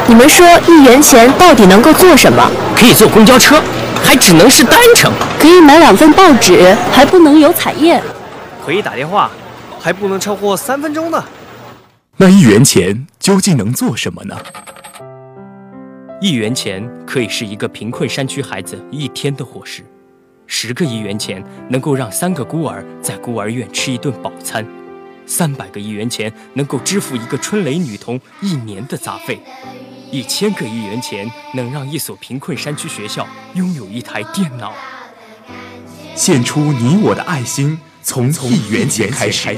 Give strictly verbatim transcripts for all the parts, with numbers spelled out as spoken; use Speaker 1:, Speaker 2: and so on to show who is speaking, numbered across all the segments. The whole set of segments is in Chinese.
Speaker 1: 你们说一元钱到底能够做什么？
Speaker 2: 可以坐公交车，还只能是单程；
Speaker 1: 可以买两份报纸，还不能有彩页；
Speaker 3: 可以打电话，还不能超过三分钟呢。
Speaker 4: 那一元钱究竟能做什么呢？
Speaker 2: 一元钱可以是一个贫困山区孩子一天的伙食，十个一元钱能够让三个孤儿在孤儿院吃一顿饱餐，三百个一元钱能够支付一个春蕾女童一年的杂费，一千个一元钱能让一所贫困山区学校拥有一台电脑。
Speaker 4: 献出你我的爱心，从从一元钱开始。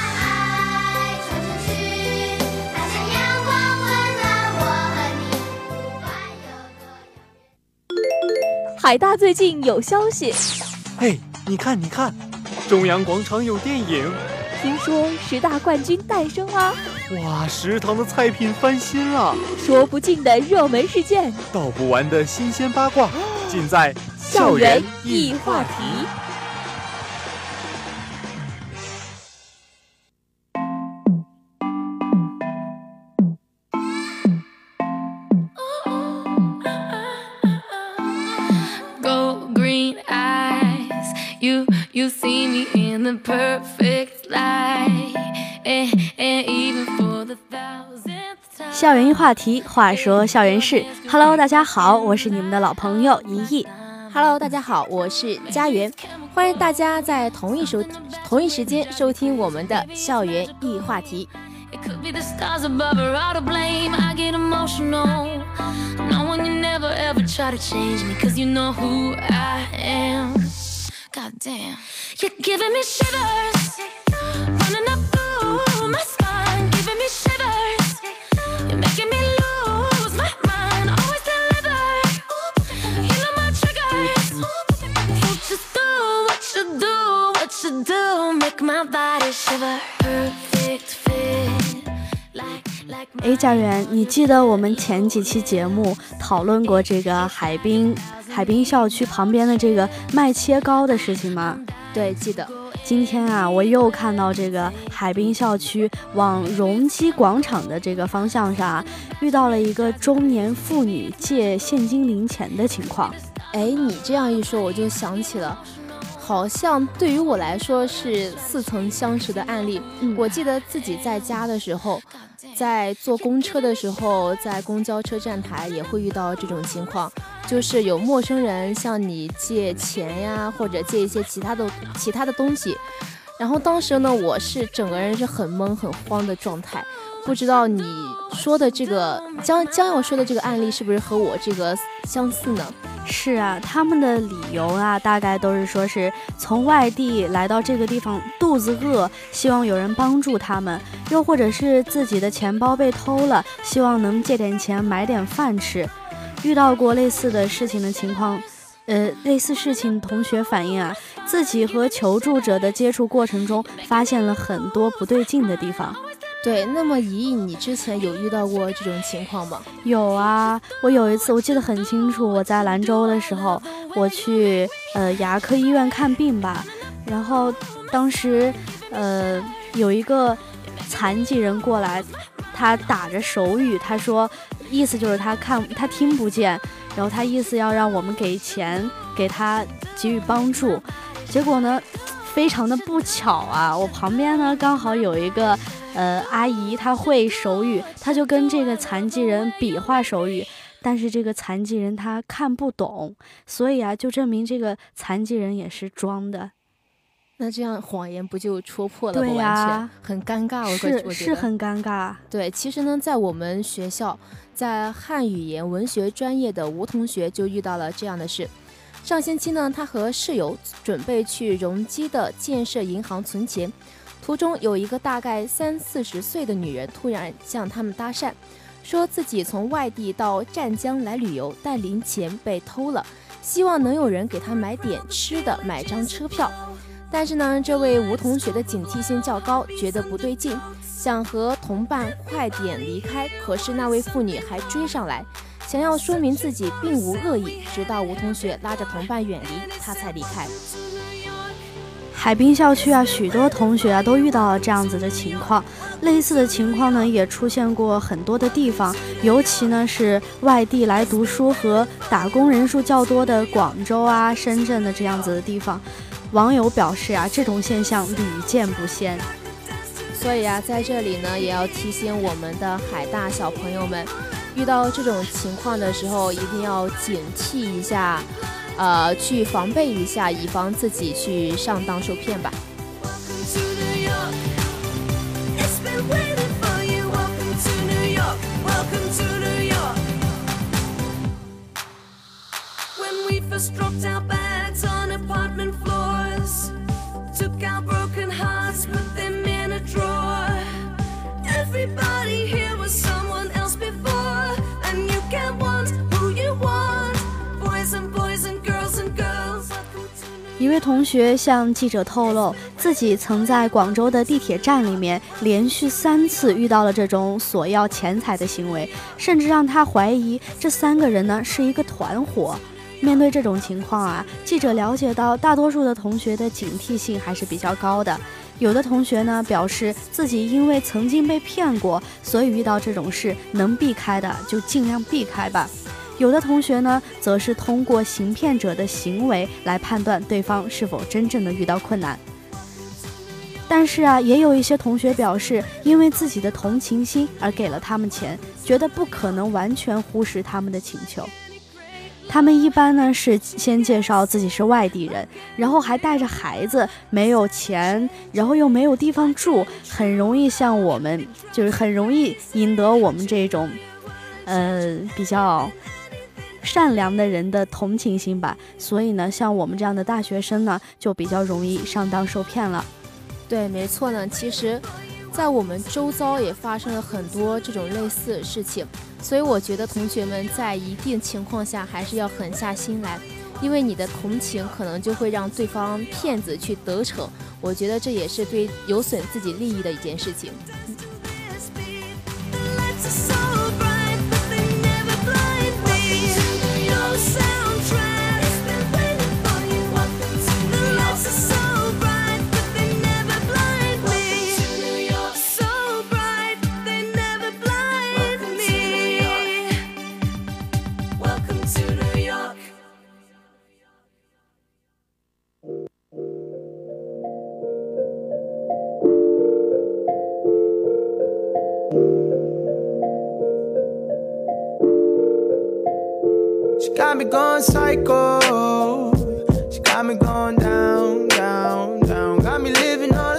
Speaker 5: 海大最近有消息，
Speaker 3: 嘿，你看你看，中央广场有电影，
Speaker 5: 听说十大冠军诞生啦！
Speaker 3: 哇，食堂的菜品翻新了，
Speaker 5: 说不尽的热门事件，
Speaker 3: 道不完的新鲜八卦，尽在
Speaker 5: 校园易话题。
Speaker 6: You see me in the perfect light, and, and even for the thousandth time.
Speaker 1: 校园一话题，话说校园事。Hello， 大家好，我是你们的老朋友怡怡。
Speaker 7: Hello， 大家好，我是佳媛，欢迎大家在同一收同一时间收听我们的校园一话题。
Speaker 6: It could be the stars above or all to blame. I get emotional, knowing you never ever try to change me, 'cause you know who I am.God damn, you're giving me shivers, running up through my spine, giving me shivers, you're making me lose my mind, always deliver, you know my triggers, so just do what you do, what you do, make my body shiver, perfect fit, like, like my...
Speaker 1: 哎，家园，你记得我们前几期节目讨论过这个海滨海滨校区旁边的这个卖切糕的事情吗？
Speaker 7: 对，记得。
Speaker 1: 今天啊，我又看到这个海滨校区往容积广场的这个方向上啊，遇到了一个中年妇女借现金零钱的情况。
Speaker 7: 哎，你这样一说，我就想起了，好像对于我来说是似曾相识的案例。嗯，我记得自己在家的时候，在坐公车的时候，在公交车站台也会遇到这种情况。就是有陌生人向你借钱呀，或者借一些其他的其他的东西，然后当时呢，我是整个人是很懵很慌的状态，不知道你说的这个将将要说的这个案例是不是和我这个相似呢？
Speaker 1: 是啊，他们的理由啊，大概都是说是从外地来到这个地方，肚子饿，希望有人帮助他们，又或者是自己的钱包被偷了，希望能借点钱买点饭吃。遇到过类似的事情的情况，呃，类似事情同学反映啊，自己和求助者的接触过程中，发现了很多不对劲的地方。
Speaker 7: 对，那么怡怡，你之前有遇到过这种情况吗？
Speaker 1: 有啊，我有一次我记得很清楚，我在兰州的时候，我去呃牙科医院看病吧，然后当时呃有一个残疾人过来，他打着手语，他说。意思就是他看他听不见，然后他意思要让我们给钱给他给予帮助，结果呢非常的不巧啊，我旁边呢刚好有一个呃阿姨，她会手语，她就跟这个残疾人比划手语，但是这个残疾人他看不懂，所以啊就证明这个残疾人也是装的。
Speaker 7: 那这样谎言不就戳破了吗？
Speaker 1: 对呀、
Speaker 7: 啊，很尴尬。我
Speaker 1: 是
Speaker 7: 我
Speaker 1: 是很尴尬。
Speaker 7: 对，其实呢，在我们学校，在汉语言文学专业的吴同学就遇到了这样的事。上星期呢，他和室友准备去容积的建设银行存钱，途中有一个大概三四十岁的女人突然向他们搭讪，说自己从外地到湛江来旅游，但零钱被偷了，希望能有人给他买点吃的，买张车票。但是呢，这位吴同学的警惕性较高，觉得不对劲，想和同伴快点离开，可是那位妇女还追上来，想要说明自己并无恶意，直到吴同学拉着同伴远离，他才离开。
Speaker 1: 海滨校区啊，许多同学啊都遇到了这样子的情况。 类似的情况呢，也出现过很多的地方，尤其呢是外地来读书和打工人数较多的广州啊、深圳的这样子的地方。网友表示啊，这种现象屡见不鲜。
Speaker 7: 所以啊，在这里呢，也要提醒我们的海大小朋友们，遇到这种情况的时候，一定要警惕一下，呃，去防备一下，以防自己去上当受骗吧。
Speaker 1: 一位同学向记者透露，自己曾在广州的地铁站里面连续三次遇到了这种索要钱财的行为，甚至让他怀疑这三个人呢是一个团伙。面对这种情况啊，记者了解到大多数的同学的警惕性还是比较高的。有的同学呢表示自己因为曾经被骗过，所以遇到这种事能避开的就尽量避开吧。有的同学呢则是通过行骗者的行为来判断对方是否真正的遇到困难。但是啊，也有一些同学表示，因为自己的同情心而给了他们钱，觉得不可能完全忽视他们的请求。他们一般呢是先介绍自己是外地人，然后还带着孩子，没有钱，然后又没有地方住，很容易像我们，就是很容易赢得我们这种呃比较善良的人的同情心吧。所以呢，像我们这样的大学生呢，就比较容易上当受骗了。
Speaker 7: 对，没错呢。其实在我们周遭也发生了很多这种类似的事情，所以我觉得同学们在一定情况下还是要狠下心来，因为你的同情可能就会让对方骗子去得逞，我觉得这也是对有损自己利益的一件事情。
Speaker 8: Got me going psycho. She got me going down, down, down. Got me living on a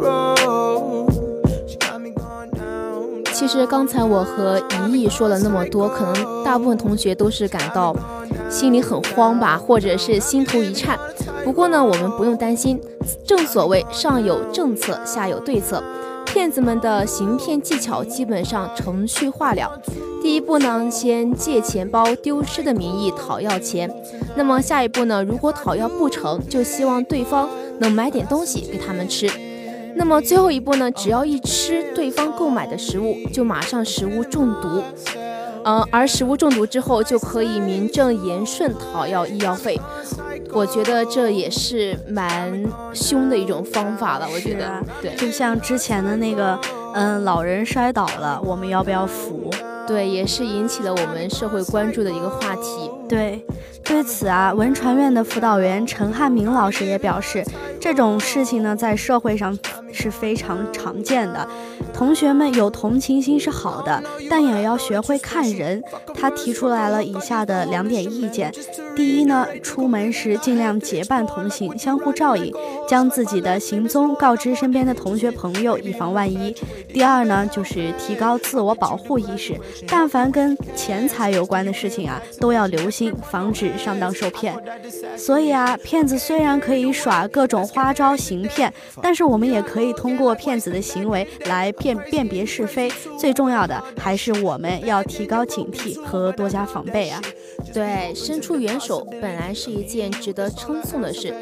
Speaker 8: tightrope. She got me going down.
Speaker 7: 其实刚才我和怡怡说了那么多，可能大部分同学都是感到心里很慌吧，或者是心头一颤。不过呢，我们不用担心，正所谓上有政策，下有对策。骗子们的行骗技巧基本上程序化了。第一步呢，先借钱包丢失的名义讨要钱。那么下一步呢，如果讨要不成，就希望对方能买点东西给他们吃。那么最后一步呢，只要一吃对方购买的食物，就马上食物中毒。呃，而食物中毒之后，就可以名正言顺讨要医药费。我觉得这也是蛮凶的一种方法了。我觉得，啊、对，
Speaker 1: 就像之前的那个，嗯，老人摔倒了，我们要不要扶？
Speaker 7: 对，也是引起了我们社会关注的一个话题。
Speaker 1: 对，对此啊，文传院的辅导员陈汉明老师也表示，这种事情呢，在社会上是非常常见的。同学们有同情心是好的，但也要学会看人。他提出来了以下的两点意见：第一呢，出门时尽量结伴同行，相互照应，将自己的行踪告知身边的同学朋友，以防万一。第二呢，就是提高自我保护意识，但凡跟钱财有关的事情啊，都要留心，防止上当受骗。所以啊，骗子虽然可以耍各种花招行骗，但是我们也可以通过骗子的行为来辨辨别是非。最重要的还是我们要提高警惕和多加防备啊。
Speaker 7: 对，伸出援手本来是一件值得称颂的事，但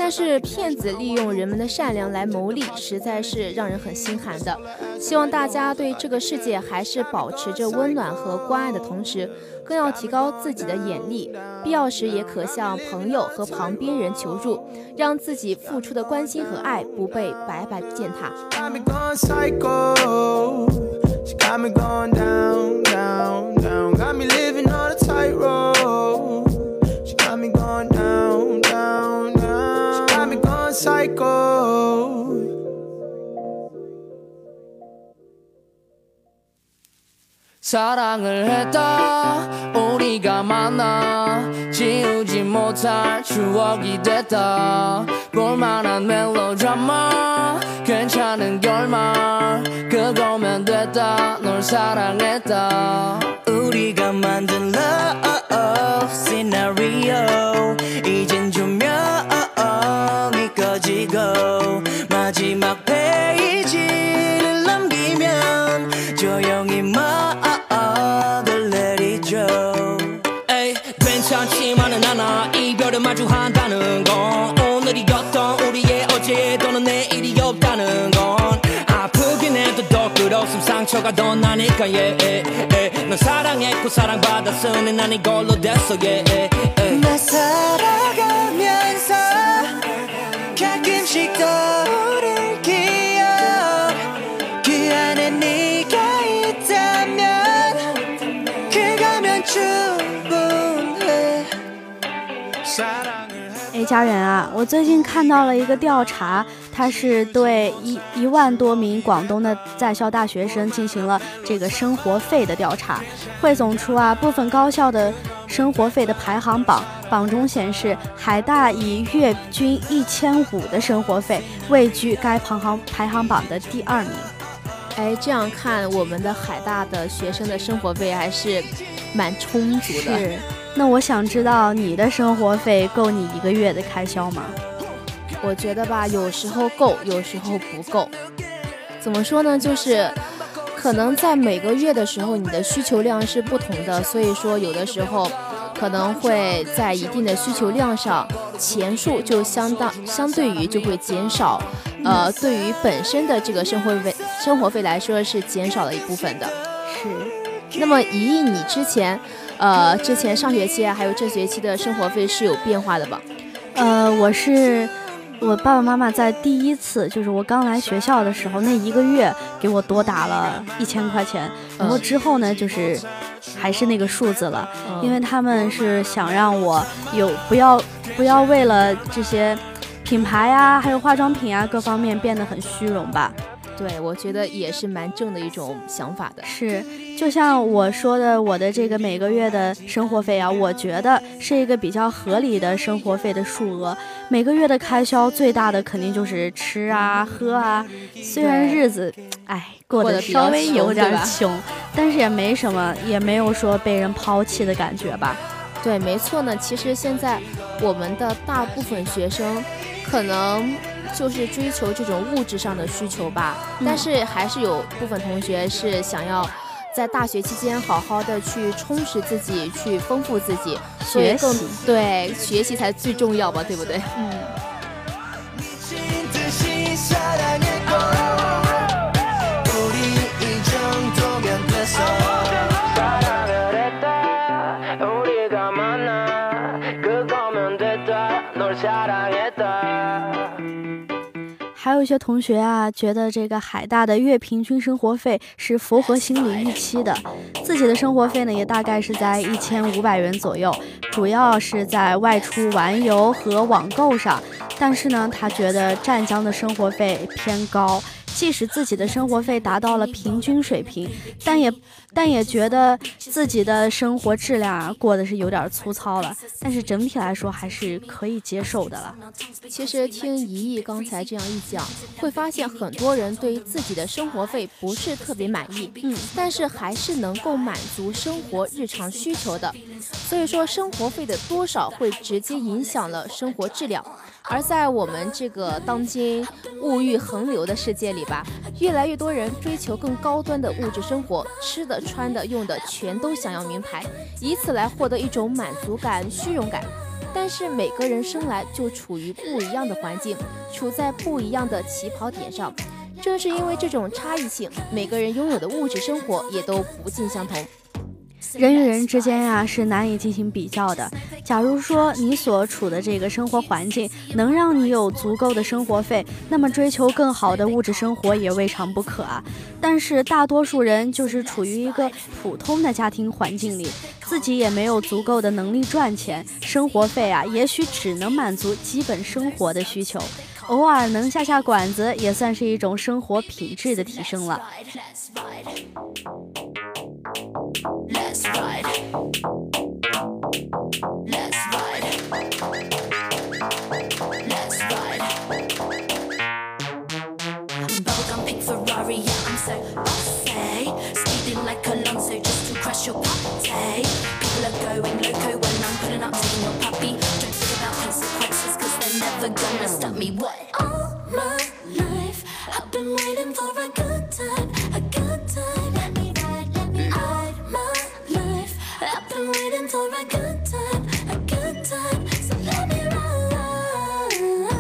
Speaker 7: 但是骗子利用人们的善良来牟利，实在是让人很心寒的。希望大家对这个世界还是保持着温暖和关爱的同时，更要提高自己的眼力，必要时也可向朋友和旁边人求助，让自己付出的关心和爱不被白白践踏。
Speaker 8: She got me going down, down, down. Got me living on a tightrope. She got me going down, down, down. She got me going psycho. 사랑을 했다 우리가 만나 지우지 못할 추억이 됐다 볼만한 멜로드라마 괜찮은 결말 그거면 됐다 널 사랑했다 우리가 만든 love scenario 이젠 조명이 꺼지고 마지막 페이지를 넘기면 조용히 막을 내리죠 에이 괜찮지만은 않아 이별을 마주한다는 건 오늘이었던 우리의 어제 또는 내일이 없다는 건 아프긴 해도 더 끝없음 상처가 더 나니까 yeah, yeah, yeah. 넌 사랑했고 사랑받았으니 난 이걸로 됐어 yeah, yeah, yeah. 나 살아가면서 가끔씩 떠오를 기억 그 안에 네가 있다면 그거면 충분해 사랑을
Speaker 1: 哎，家人啊，我最近看到了一个调查，它是对一一万多名广东的在校大学生进行了这个生活费的调查，汇总出啊部分高校的生活费的排行榜，榜中显示海大以月均一千五的生活费位居该排行排行榜的第二名。
Speaker 7: 哎，这样看我们的海大的学生的生活费还是蛮充足的。
Speaker 1: 是，那我想知道你的生活费够你一个月的开销吗？
Speaker 7: 我觉得吧，有时候够，有时候不够。怎么说呢？就是可能在每个月的时候，你的需求量是不同的，所以说有的时候可能会在一定的需求量上，钱数就相当相对于就会减少。呃，对于本身的这个生活费生活费来说是减少了一部分的。
Speaker 1: 是。
Speaker 7: 那么怡怡，你之前呃之前上学期还有这学期的生活费是有变化的吧？
Speaker 1: 呃，我是我爸爸妈妈在第一次就是我刚来学校的时候那一个月给我多打了一千块钱，然后之后呢就是还是那个数字了，嗯、因为他们是想让我有不要不要为了这些品牌啊还有化妆品啊各方面变得很虚荣吧。
Speaker 7: 对，我觉得也是蛮正的一种想法的。
Speaker 1: 是，就像我说的，我的这个每个月的生活费啊，我觉得是一个比较合理的生活费的数额。每个月的开销最大的肯定就是吃啊、喝啊。虽然日子，哎，过得稍微有点穷，但是也没什么，也没有说被人抛弃的感觉吧。
Speaker 7: 对，没错呢。其实现在我们的大部分学生可能就是追求这种物质上的需求吧，嗯、但是还是有部分同学是想要在大学期间好好的去充实自己，去丰富自己，
Speaker 1: 学习，
Speaker 7: 对，学习才最重要吧，对不对？嗯。
Speaker 1: 还有一些同学啊，觉得这个海大的月平均生活费是符合心理预期的，自己的生活费呢也大概是在一千五百元左右，主要是在外出玩游和网购上。但是呢，他觉得湛江的生活费偏高，即使自己的生活费达到了平均水平，但也但也觉得自己的生活质量啊过得是有点粗糙了，但是整体来说还是可以接受的了。
Speaker 7: 其实听怡怡刚才这样一讲，会发现很多人对于自己的生活费不是特别满意，嗯，但是还是能够满足生活日常需求的。所以说，生活费的多少会直接影响了生活质量。而在我们这个当今物欲横流的世界里吧，越来越多人追求更高端的物质生活，吃的、穿的、用的全都想要名牌，以此来获得一种满足感、虚荣感。 但是每个人生来就处于不一样的环境，处在不一样的起跑点上。正是因为这种差异性，每个人拥有的物质生活也都不尽相同。
Speaker 1: 人与人之间呀、啊、是难以进行比较的。假如说你所处的这个生活环境能让你有足够的生活费，那么追求更好的物质生活也未尝不可啊。但是大多数人就是处于一个普通的家庭环境里，自己也没有足够的能力赚钱，生活费啊也许只能满足基本生活的需求，偶尔能下下馆子也算是一种生活品质的提升了。
Speaker 6: Let's ride. Let's ride. Let's ride. Bubblegum pink Ferrari, yeah, I'm so bossy. Speeding like Alonso just to crash your party. People are going loco when I'm pulling up, taking your puppy. Don't think about consequences, cause they're never gonna stop me. What? All my life, I've been waiting for a good time, a good time. Let me ride, let me ride my life. I've been waiting for a good time, a good time. So let me ride,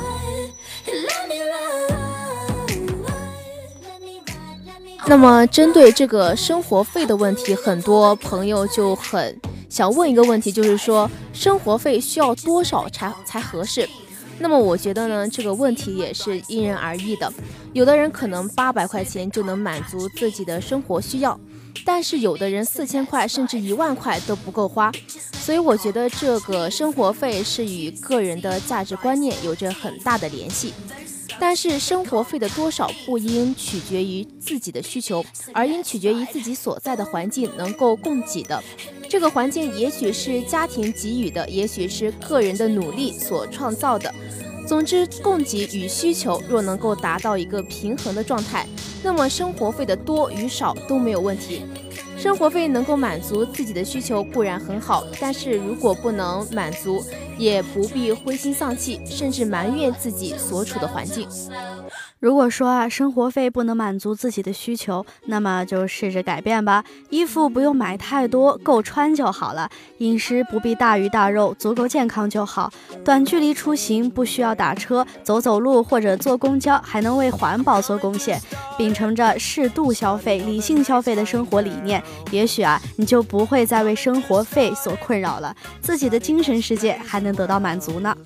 Speaker 6: let me ride, let me ride, let me ride.
Speaker 7: 那么针对这个生活费的问题，很多朋友就很想问一个问题，就是说生活费需要多少才才合适？那么我觉得呢，这个问题也是因人而异的。有的人可能八百块钱就能满足自己的生活需要，但是有的人四千块甚至一万块都不够花。所以我觉得这个生活费是与个人的价值观念有着很大的联系。但是生活费的多少不应取决于自己的需求，而应取决于自己所在的环境能够供给的。这个环境也许是家庭给予的，也许是个人的努力所创造的。总之，供给与需求若能够达到一个平衡的状态，那么生活费的多与少都没有问题。生活费能够满足自己的需求固然很好，但是如果不能满足，也不必灰心丧气，甚至埋怨自己所处的环境。
Speaker 1: 如果说啊，生活费不能满足自己的需求，那么就试着改变吧。衣服不用买太多，够穿就好了。饮食不必大鱼大肉，足够健康就好。短距离出行不需要打车，走走路或者坐公交，还能为环保做贡献。秉承着适度消费、理性消费的生活理念，也许啊，你就不会再为生活费所困扰了，自己的精神世界还能得到满足呢。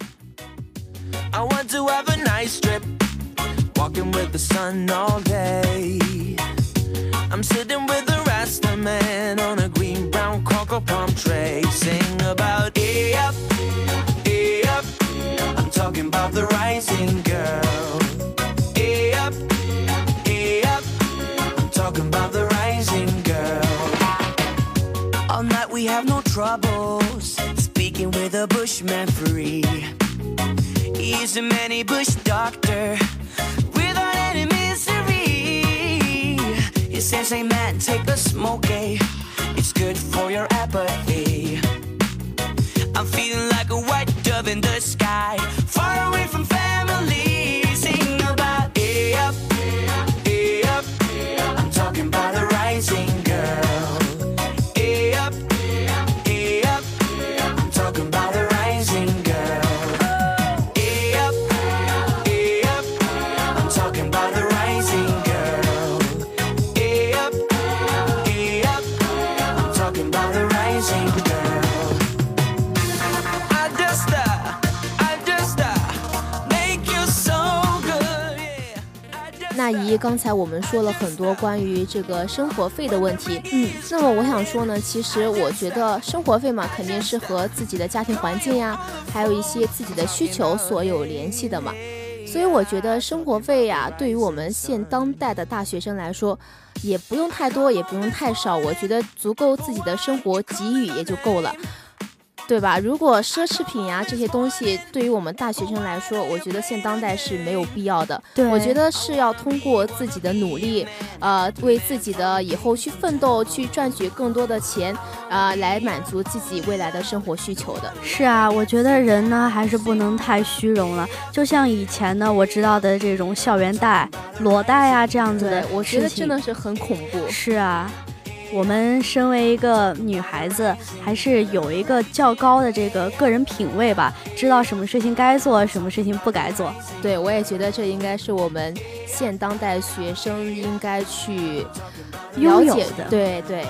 Speaker 8: I want to have a nice trip, walking with the sun all day. I'm sitting with the Rasta man on a green brown cocoa palm tray, sing about hey up, hey up. I'm talking about the rising girl. Hey up, hey up. I'm talking about the rising girl. All night we have no troubles, speaking with a bushman free. He's a many bush doctor without any misery. He says, hey man, take a smoke, eh? It's good for your apathy. I'm feeling like a white dove in the sky, far away from family. Sing about hey up, hey up. I'm talking about the rising girl. Hey up, hey up. I'm talking about the rising girl.
Speaker 7: I 那姨，刚才我们说了很多关于这个生活费的问题，嗯，那么我想说呢，其实我觉得生活费嘛，肯定是和自己的家庭环境呀，还有一些自己的需求所有联系的嘛。所以我觉得生活费呀，对于我们现当代的大学生来说，也不用太多，也不用太少，我觉得足够自己的生活给予也就够了。对吧？如果奢侈品呀这些东西对于我们大学生来说，我觉得现当代是没有必要的。我觉得是要通过自己的努力，呃，为自己的以后去奋斗，去赚取更多的钱，啊、呃，来满足自己未来的生活需求的。
Speaker 1: 是啊，我觉得人呢还是不能太虚荣了。就像以前呢，我知道的这种校园贷、裸贷啊这样子的，
Speaker 7: 我觉得真的是很恐怖。
Speaker 1: 是啊。 我们身为一个女孩子，还是有一个较高的这个个人品味吧，知道什么事情该做，什么事情不该做。
Speaker 7: 对，我也觉得这应该是我们现当代学生应该去了解的。对对。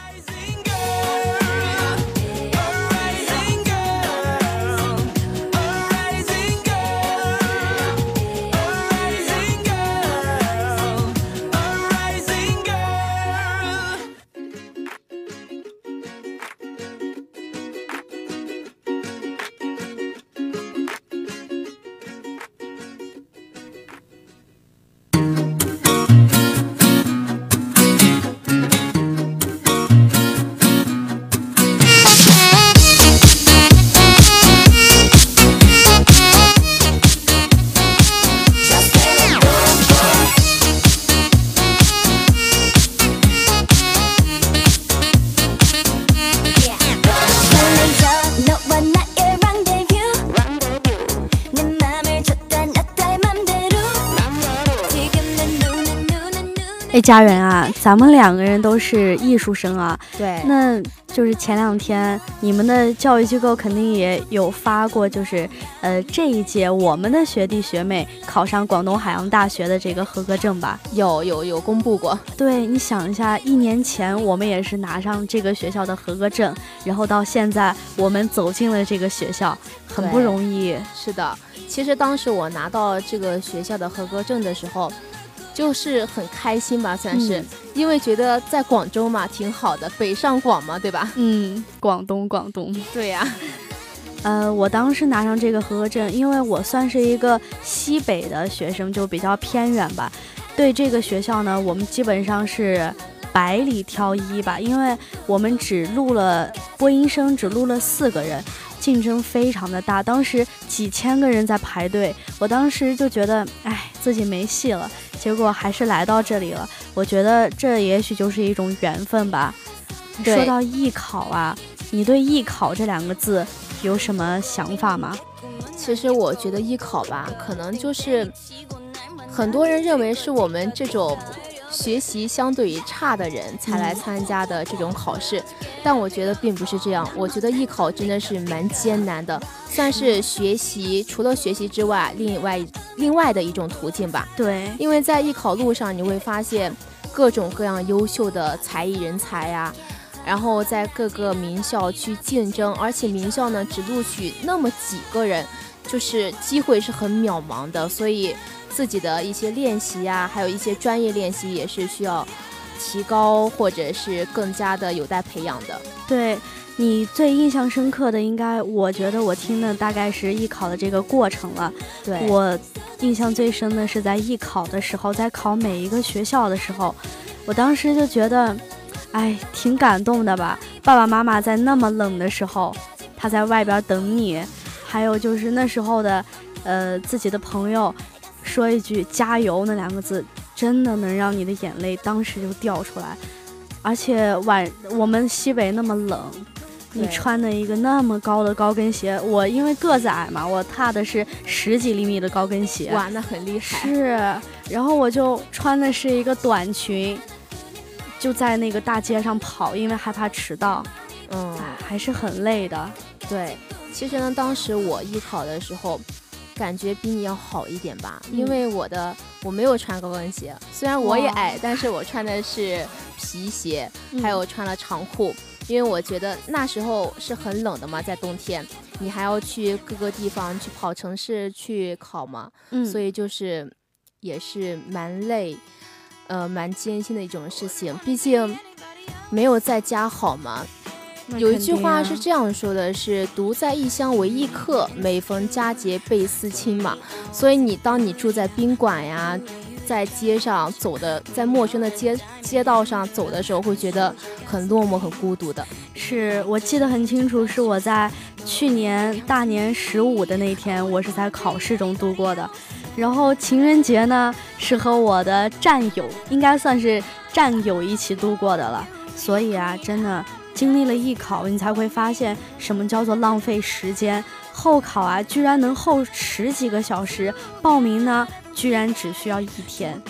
Speaker 1: 哎，家人啊，咱们两个人都是艺术生啊。
Speaker 7: 对，
Speaker 1: 那就是前两天你们的教育机构肯定也有发过，就是呃这一届我们的学弟学妹考上广东海洋大学的这个合格证吧？
Speaker 7: 有有有公布过。
Speaker 1: 对，你想一下，一年前我们也是拿上这个学校的合格证，然后到现在我们走进了这个学校，很不容易。
Speaker 7: 是的，其实当时我拿到这个学校的合格证的时候，就是很开心吧，算是、嗯、因为觉得在广州嘛挺好的，北上广嘛，对吧？
Speaker 1: 嗯，广东广东，
Speaker 7: 对呀、啊。
Speaker 1: 呃，我当时拿上这个合格证，因为我算是一个西北的学生，就比较偏远吧。对这个学校呢，我们基本上是百里挑一吧，因为我们只录了播音生，只录了四个人。竞争非常的大，当时几千个人在排队，我当时就觉得哎，自己没戏了，结果还是来到这里了。我觉得这也许就是一种缘分吧。说到艺考啊，你对艺考这两个字有什么想法吗？
Speaker 7: 其实我觉得艺考吧，可能就是很多人认为是我们这种学习相对于差的人才来参加的这种考试、嗯、但我觉得并不是这样。我觉得艺考真的是蛮艰难的，算是学习除了学习之外另外另外的一种途径吧。
Speaker 1: 对，
Speaker 7: 因为在艺考路上你会发现各种各样优秀的才艺人才呀、啊，然后在各个名校去竞争，而且名校呢只录取那么几个人，就是机会是很渺茫的，所以自己的一些练习啊，还有一些专业练习也是需要提高，或者是更加的有待培养的。
Speaker 1: 对，你最印象深刻的应该，我觉得我听的大概是艺考的这个过程了。
Speaker 7: 对，
Speaker 1: 我印象最深的是在艺考的时候，在考每一个学校的时候，我当时就觉得哎，挺感动的吧。爸爸妈妈在那么冷的时候，他在外边等你，还有就是那时候的呃自己的朋友说一句加油那两个字，真的能让你的眼泪当时就掉出来。而且晚我们西北那么冷，你穿的一个那么高的高跟鞋，我因为个子矮嘛，我踏的是十几厘米的高跟鞋。
Speaker 7: 哇，那很厉害。
Speaker 1: 是，然后我就穿的是一个短裙，就在那个大街上跑，因为害怕迟到。
Speaker 7: 嗯，
Speaker 1: 还是很累的。
Speaker 7: 对，其实呢，当时我艺考的时候感觉比你要好一点吧、嗯、因为我的我没有穿高跟鞋，虽然我也矮，但是我穿的是皮鞋、嗯、还有穿了长裤，因为我觉得那时候是很冷的嘛，在冬天你还要去各个地方去跑城市去考嘛、嗯、所以就是也是蛮累呃，蛮艰辛的一种事情，毕竟没有在家好嘛。有一句话是这样说的，是独在异乡为异客，每逢佳节倍思亲嘛。所以你当你住在宾馆呀，在街上走的，在陌生的街街道上走的时候，会觉得很落寞很孤独的。
Speaker 1: 是我记得很清楚，是我在去年大年十五的那天，我是在考试中度过的。然后情人节呢，是和我的战友，应该算是战友一起度过的了。所以啊，真的经历了艺考，你才会发现什么叫做浪费时间。候考啊，居然能候十几个小时，报名呢，居然只需要一天。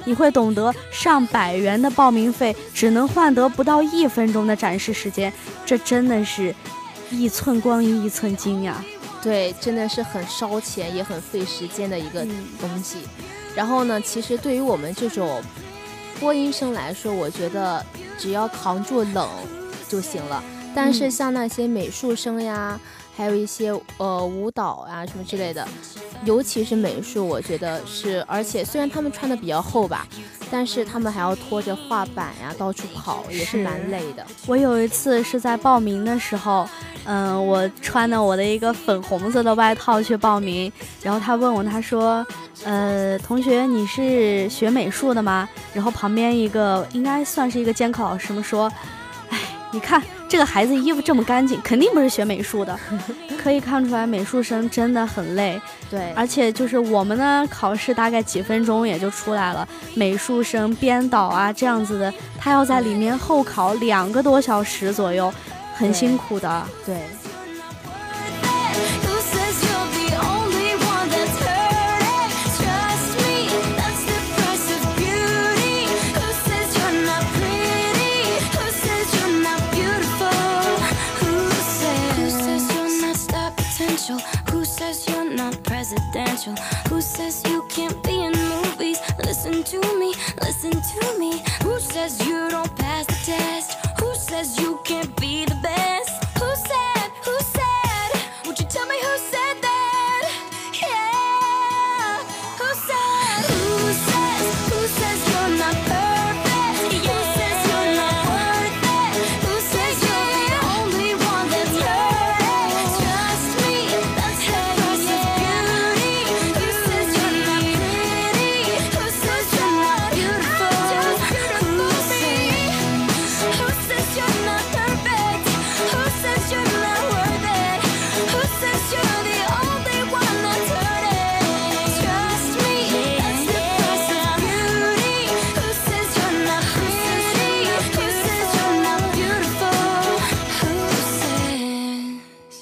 Speaker 1: 你会懂得上百元的报名费只能换得不到一分钟的展示时间，这真的是一寸光阴一寸金呀。
Speaker 7: 对，真的是很烧钱也很费时间的一个东西、嗯、然后呢，其实对于我们这种播音生来说，我觉得只要扛住冷就行了，但是像那些美术生呀、嗯、还有一些呃舞蹈啊什么之类的，尤其是美术，我觉得是，而且虽然他们穿的比较厚吧，但是他们还要拖着画板呀到处跑，也是蛮累的。
Speaker 1: 我有一次是在报名的时候，嗯、呃，我穿的我的一个粉红色的外套去报名，然后他问我，他说呃，同学你是学美术的吗？然后旁边一个应该算是一个监考老师们说，哎，你看这个孩子衣服这么干净，肯定不是学美术的。可以看出来美术生真的很累。
Speaker 7: 对，
Speaker 1: 而且就是我们呢考试大概几分钟也就出来了，美术生编导啊这样子的，他要在里面候考两个多小时左右，很辛苦的。
Speaker 7: 对，
Speaker 6: Who says you're not presidential? Who says you can't be in movies? Listen to me, listen to me. Who says you don't pass the test? Who says you can't be the best? Who said, who said? Would you tell me who said that? Yeah. Who said, who says, who says you're not perfect? Who says you're not worth it? Who says you're the only one that's hurting? Trust me, that's the price of beauty. Who says you're not pretty? Who says you're not beautiful? Who says, who says you're not perfect? Who says you're not worth it? Who says you're the only one that's hurting? Trust me, that's the price of beauty. Who says you're not pretty? Who says you're not beautiful? Who says?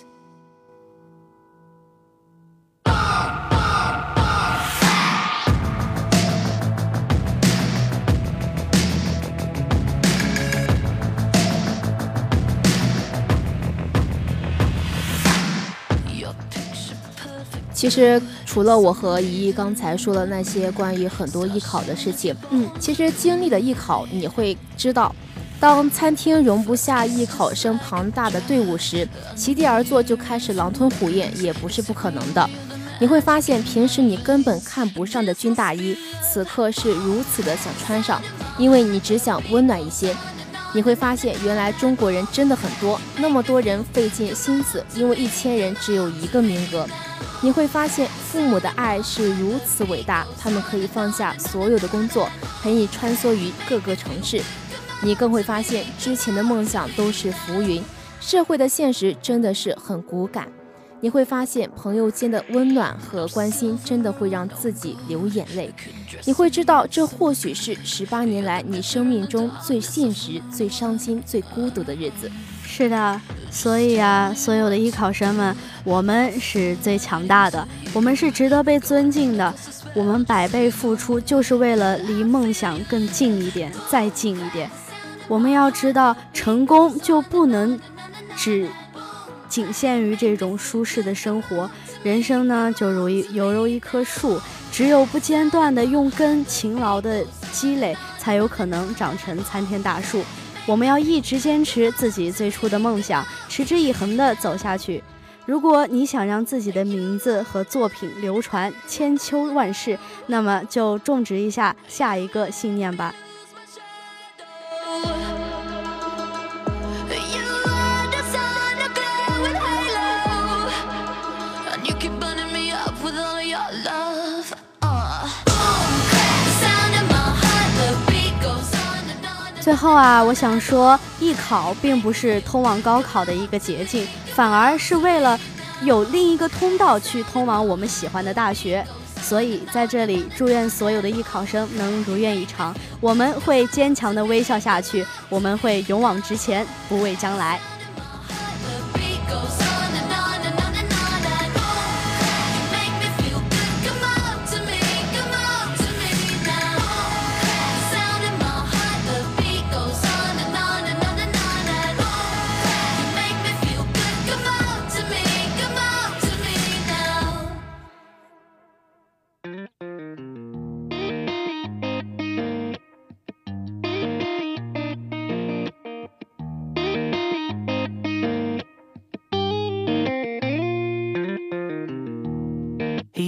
Speaker 7: 其实除了我和怡怡刚才说的那些关于很多艺考的事情，
Speaker 1: 嗯，
Speaker 7: 其实经历了艺考，你会知道，当餐厅容不下艺考生庞大的队伍时，席地而坐就开始狼吞虎咽也不是不可能的。你会发现平时你根本看不上的军大衣，此刻是如此的想穿上，因为你只想温暖一些。你会发现原来中国人真的很多，那么多人费尽心思，因为一千人只有一个名额。你会发现父母的爱是如此伟大，他们可以放下所有的工作，陪你穿梭于各个城市。你更会发现之前的梦想都是浮云，社会的现实真的是很骨感。你会发现朋友间的温暖和关心真的会让自己流眼泪。你会知道这或许是十八年来你生命中最现实、最伤心、最孤独的日子。
Speaker 1: 是的，所以啊，所有的艺考生们，我们是最强大的，我们是值得被尊敬的，我们百倍付出就是为了离梦想更近一点，再近一点。我们要知道，成功就不能只仅限于这种舒适的生活，人生呢就如一犹如一棵树，只有不间断的用根勤劳的积累，才有可能长成参天大树。我们要一直坚持自己最初的梦想，持之以恒地走下去。如果你想让自己的名字和作品流传千秋万世，那么就种植一下下一个信念吧。最后啊，我想说，艺考并不是通往高考的一个捷径，反而是为了有另一个通道去通往我们喜欢的大学。所以在这里，祝愿所有的艺考生能如愿以偿。我们会坚强地微笑下去，我们会勇往直前，不畏将来。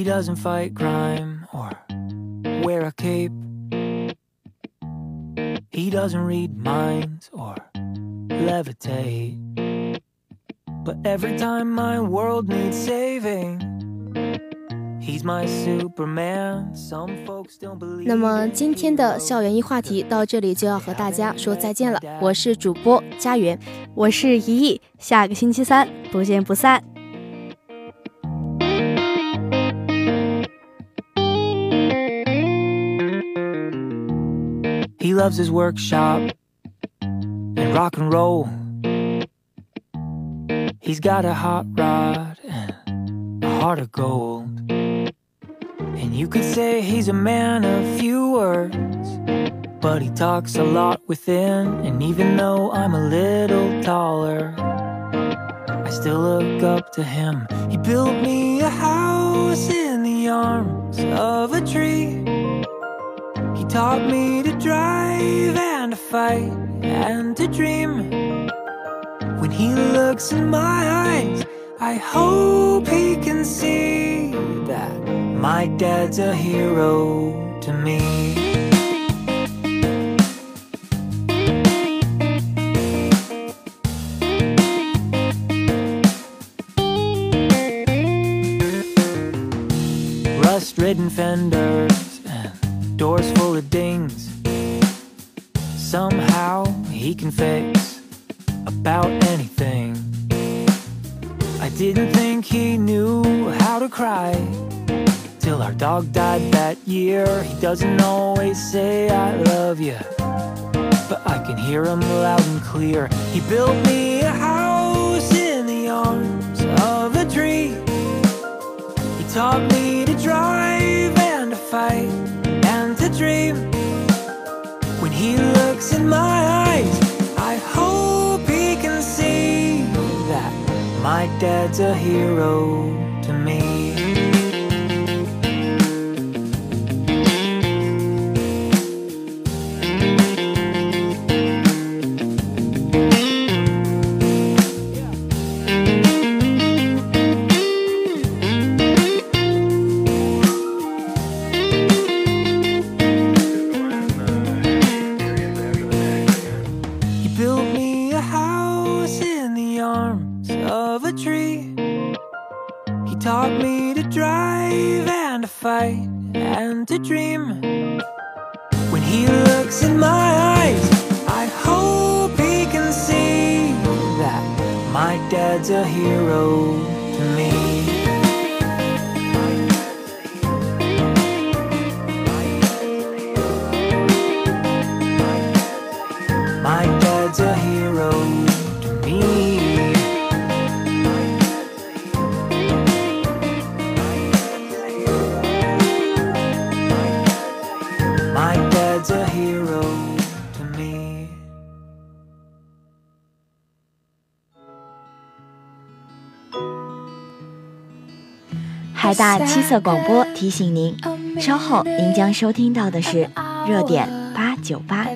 Speaker 8: He doesn't fight crime or wear a cape. He doesn't read minds or levitate. But every time my world needs saving, he's my Superman. Some folks don't believe.
Speaker 7: 那么今天的校园一话题到这里就要和大家说再见了。我是主播佳媛，
Speaker 1: 我是怡怡，下个星期三不见不散。
Speaker 8: He loves his workshop and rock and roll. He's got a hot rod and a heart of gold. And you could say he's a man of few words, but he talks a lot within. And even though I'm a little taller, I still look up to him. He built me a house in the arms of a tree. He taught me to drive and to fight and to dream. When he looks in my eyes, I hope he can see that my dad's a hero to me. Rust-ridden fenders and doors full of dings. Somehow he can fix about anything. I didn't think he knew how to cry till our dog died that year. He doesn't always say I love you, but I can hear him loud and clear. He built me a house in the arms of a tree. He taught me to drive and to fight and to dream. When he looks in my eyes, I hope he can see that my dad's a hero to me. Taught me to drive and to fight and to dream. When he looks in my eyes, I hope he can see that my dad's a hero to me. My dad's a hero to me. My dad's a hero to me.
Speaker 9: 海大七色广播提醒您，稍后您将收听到的是热点八九八。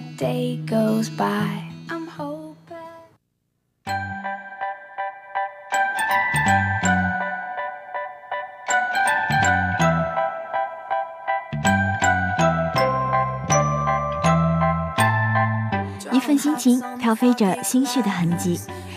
Speaker 9: 一份心情飘飞着心绪的痕迹，